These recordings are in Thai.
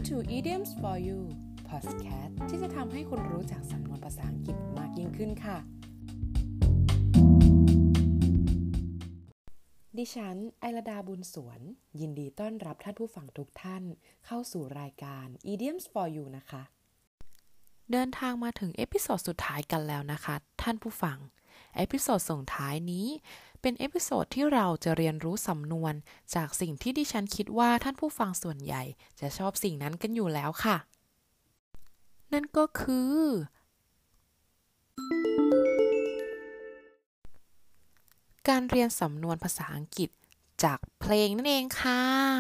to Idioms for You Podcast ที่จะทำให้คุณรู้จักสำนวนภาษาอังกฤษมากยิ่งขึ้นค่ะดิฉันไอลดาบุญสวนยินดีต้อนรับท่านผู้ฟังทุกท่านเข้าสู่รายการ Idioms for You นะคะเดินทางมาถึงเอพิโซดสุดท้ายกันแล้วนะคะท่านผู้ฟังเอพิโซดส่งท้ายนี้เป็นเอพิโซดที่เราจะเรียนรู้สำนวนจากสิ่งที่ดิฉันคิดว่าท่านผู้ฟังส่วนใหญ่จะชอบสิ่งนั้นกันอยู่แล้วค่ะนั่นก็คือการเรียนสำนวนภาษาอังกฤษจากเพลงนั่นเองค่ะ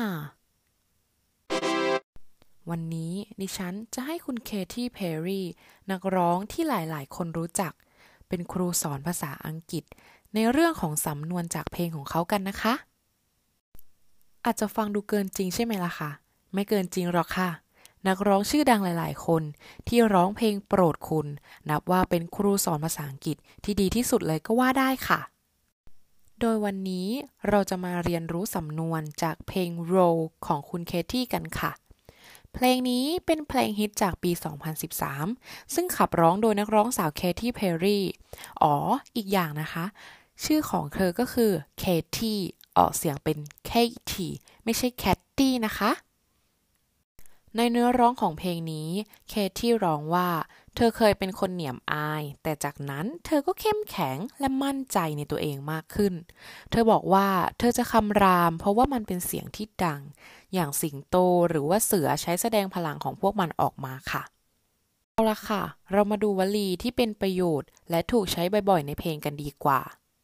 วันนี้ดิฉันจะให้คุณเคที่เพร์รี่นักร้องที่หลายๆคนรู้จักเป็นครูสอนภาษาอังกฤษในเรื่องของสำนวนจากเพลงของเขากันนะคะอาจจะฟังดูเกินจริงใช่ไหมล่ะคะไม่เกินจริงหรอกค่ะนักร้องชื่อดังหลายๆคนที่ร้องเพลงโปรดคุณนับว่าเป็นครูสอนภาษาอังกฤษที่ดีที่สุดเลยก็ว่าได้ค่ะโดยวันนี้เราจะมาเรียนรู้สำนวนจากเพลง Roll ของคุณเคที่กันค่ะเพลงนี้เป็นเพลงฮิตจากปี 2013 ซึ่งขับร้องโดยนักร้องสาวเคที่เพร์รี่อีกอย่างนะคะชื่อของเธอก็คือเคที่ออกเสียงเป็นเคที่ไม่ใช่แคทตี้นะคะในเนื้อร้องของเพลงนี้เคที่ร้องว่าเธอเคยเป็นคนเหนียมอายแต่จากนั้นเธอก็เข้มแข็งและมั่นใจในตัวเองมากขึ้นเธอบอกว่าเธอจะคำรามเพราะว่ามันเป็นเสียงที่ดังอย่างสิงโตหรือว่าเสือใช้แสดงพลังของพวกมันออกมาค่ะเอาละค่ะเรามาดูวลีที่เป็นประโยชน์และถูกใช้บ่อยๆในเพลงกันดีกว่า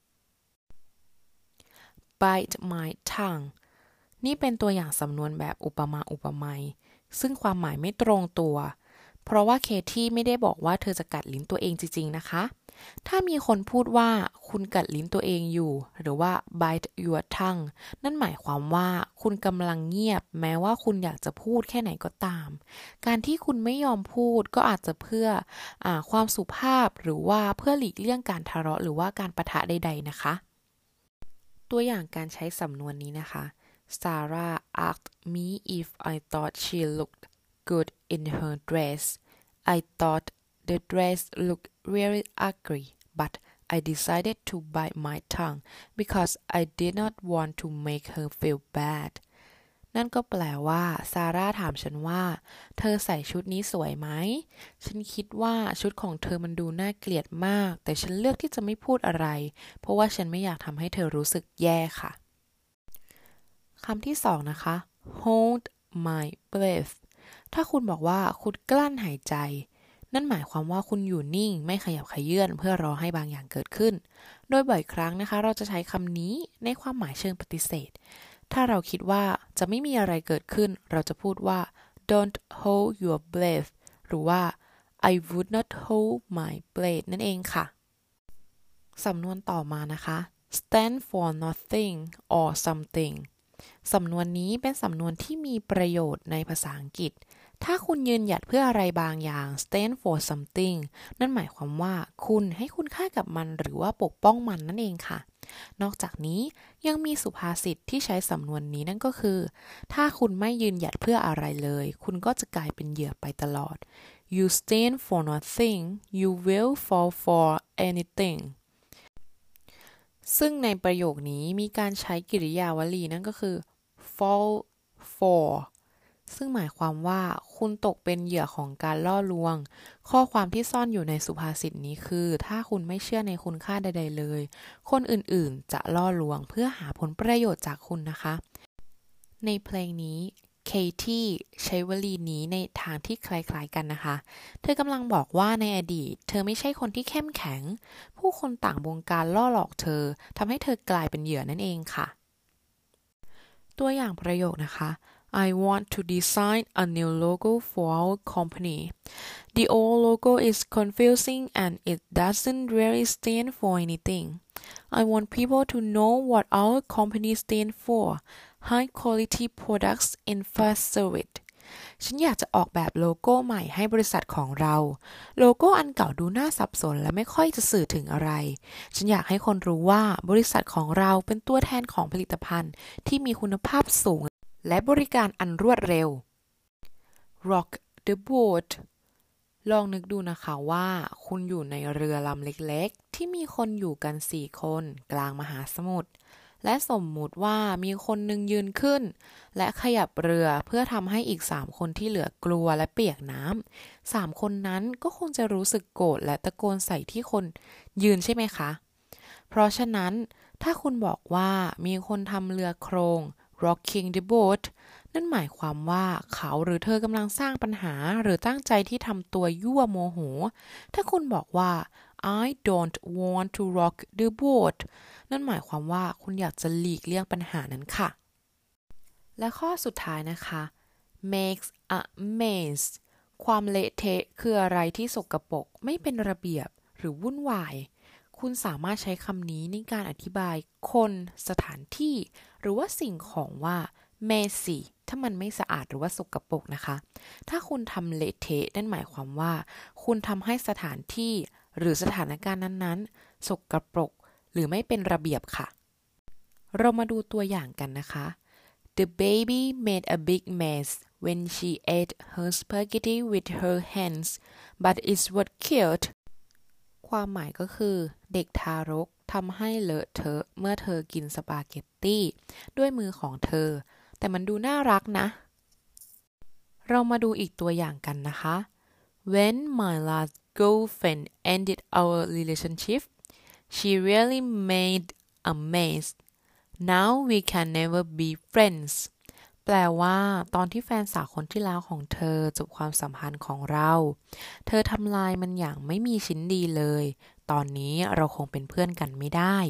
Bite my tongue นี่เป็นตัวอย่างสำนวนแบบอุปมาอุปไมยซึ่งความหมายไม่ตรงตัวเพราะว่าเคที่ไม่ได้บอกว่าเธอจะกัดลิ้นตัวเองจริงๆนะคะถ้ามีคนพูดว่าคุณกัดลิ้นตัวเองอยู่หรือว่า bite your tongue นั่นหมายความว่าคุณกำลังเงียบแม้ว่าคุณอยากจะพูดแค่ไหนก็ตามการที่คุณไม่ยอมพูดก็อาจจะเพื่อความสุภาพหรือว่าเพื่อหลีกเลี่ยงการทะเลาะหรือว่าการปะทะใดๆนะคะตัวอย่างการใช้สำนวนนี้นะคะSarah asked me if I thought she looked good in her dress. I thought the dress looked really ugly, but I decided to bite my tongue because I did not want to make her feel bad. นั่นก็แปลว่าซาร่าถามฉันว่าเธอใส่ชุดนี้สวยไหมฉันคิดว่าชุดของเธอมันดูน่าเกลียดมากแต่ฉันเลือกที่จะไม่พูดอะไรเพราะว่าฉันไม่อยากทำให้เธอรู้สึกแย่ค่ะคำที่สองนะคะ hold my breath ถ้าคุณบอกว่าคุณกลั้นหายใจนั่นหมายความว่าคุณอยู่นิ่งไม่ขยับเขยื้อนเพื่อรอให้บางอย่างเกิดขึ้นโดยบ่อยครั้งนะคะเราจะใช้คำนี้ในความหมายเชิงปฏิเสธถ้าเราคิดว่าจะไม่มีอะไรเกิดขึ้นเราจะพูดว่า don't hold your breath หรือว่า I would not hold my breath นั่นเองค่ะสำนวนต่อมานะคะ stand for nothing or somethingสำนวนนี้เป็นสำนวนที่มีประโยชน์ในภาษาอังกฤษถ้าคุณยืนหยัดเพื่ออะไรบางอย่าง stand for something นั่นหมายความว่าคุณให้คุณค่ากับมันหรือว่าปกป้องมันนั่นเองค่ะนอกจากนี้ยังมีสุภาษิตที่ใช้สำนวนนี้นั่นก็คือถ้าคุณไม่ยืนหยัดเพื่ออะไรเลยคุณก็จะกลายเป็นเหยื่อไปตลอด you stand for nothing you will fall for anythingซึ่งในประโยคนี้มีการใช้กริยาวลีนั่นก็คือ fall for ซึ่งหมายความว่าคุณตกเป็นเหยื่อของการล่อลวงข้อความที่ซ่อนอยู่ในสุภาษิตนี้คือถ้าคุณไม่เชื่อในคุณค่าใดๆเลยคนอื่นๆจะล่อลวงเพื่อหาผลประโยชน์จากคุณนะคะในเพลงนี้เคที่ใช้วลีนี้ในทางที่คล้ายๆกันนะคะเธอกำลังบอกว่าในอดีตเธอไม่ใช่คนที่เข้มแข็งผู้คนต่างบงการล่อหลอกเธอทำให้เธอกลายเป็นเหยื่อนั่นเองค่ะตัวอย่างประโยคนะคะ I want to design a new logo for our company. The old logo is confusing and it doesn't really stand for anything. I want people to know what our company stands for. High quality products and fast service ฉันอยากจะออกแบบโลโก้ใหม่ให้บริษัทของเราโลโก้อันเก่าดูน่าสับสนและไม่ค่อยจะสื่อถึงอะไรฉันอยากให้คนรู้ว่าบริษัทของเราเป็นตัวแทนของผลิตภัณฑ์ที่มีคุณภาพสูงและบริการอันรวดเร็ว rock the boat ลองนึกดูนะคะว่าคุณอยู่ในเรือลำเล็กๆที่มีคนอยู่กัน4 คนกลางมหาสมุทรและสมมุติว่ามีคนหนึ่งยืนขึ้นและขยับเรือเพื่อทำให้อีก3 คนที่เหลือกลัวและเปียกน้ำ3 คนนั้นก็คงจะรู้สึกโกรธและตะโกนใส่ที่คนยืนใช่ไหมคะเพราะฉะนั้นถ้าคุณบอกว่ามีคนทำเรือโครง rocking the boat นั่นหมายความว่าเขาหรือเธอกำลังสร้างปัญหาหรือตั้งใจที่ทำตัวยั่วโมโหถ้าคุณบอกว่า I don't want to rock the boat นั่นหมายความว่าคุณอยากจะหลีกเลี่ยงปัญหานั้นค่ะและข้อสุดท้ายนะคะ makes a mess ความเละเทะคืออะไรที่สกปรกไม่เป็นระเบียบหรือวุ่นวายคุณสามารถใช้คำนี้ในการอธิบายคนสถานที่หรือว่าสิ่งของว่า messy ถ้ามันไม่สะอาดหรือว่าสกปรกนะคะถ้าคุณทำเละเทะนั่นหมายความว่าคุณทำให้สถานที่หรือสถานการณ์นั้นๆสกปรกหรือไม่เป็นระเบียบค่ะเรามาดูตัวอย่างกันนะคะ The baby made a big mess when she ate her spaghetti with her hands but it was cute ความหมายก็คือเด็กทารกทำให้เลอะเทอะเมื่อเธอกินสปาเกตตี้ด้วยมือของเธอแต่มันดูน่ารักนะเรามาดูอีกตัวอย่างกันนะคะ When my last girlfriend ended our relationship she really made a mess now we can never be friends แปลว่าตอนที่แฟนสาวคนที่แล้วของเธอจบความสัมพันธ์ของเราเธอทำลายมันอย่างไม่มีชิ้นดีเลยตอนนี้เราคงเป็นเพื่อนกันไม่ได้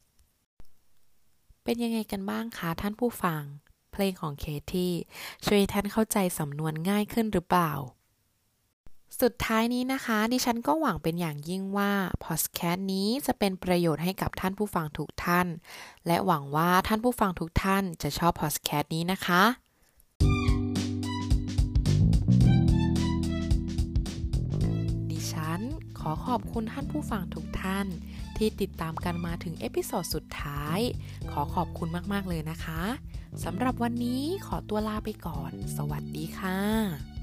เป็นยังไงกันบ้างคะท่านผู้ฟังเพลงของเคที่ช่วยท่านเข้าใจสำนวนง่ายขึ้นหรือเปล่าสุดท้ายนี้นะคะดิฉันก็หวังเป็นอย่างยิ่งว่าพอดแคสต์นี้จะเป็นประโยชน์ให้กับท่านผู้ฟังทุกท่านและหวังว่าท่านผู้ฟังทุกท่านจะชอบพอดแคสต์นี้นะคะดิฉันขอขอบคุณท่านผู้ฟังทุกท่านที่ติดตามกันมาถึงเอพิโซดสุดท้ายขอขอบคุณมากๆเลยนะคะสำหรับวันนี้ขอตัวลาไปก่อนสวัสดีค่ะ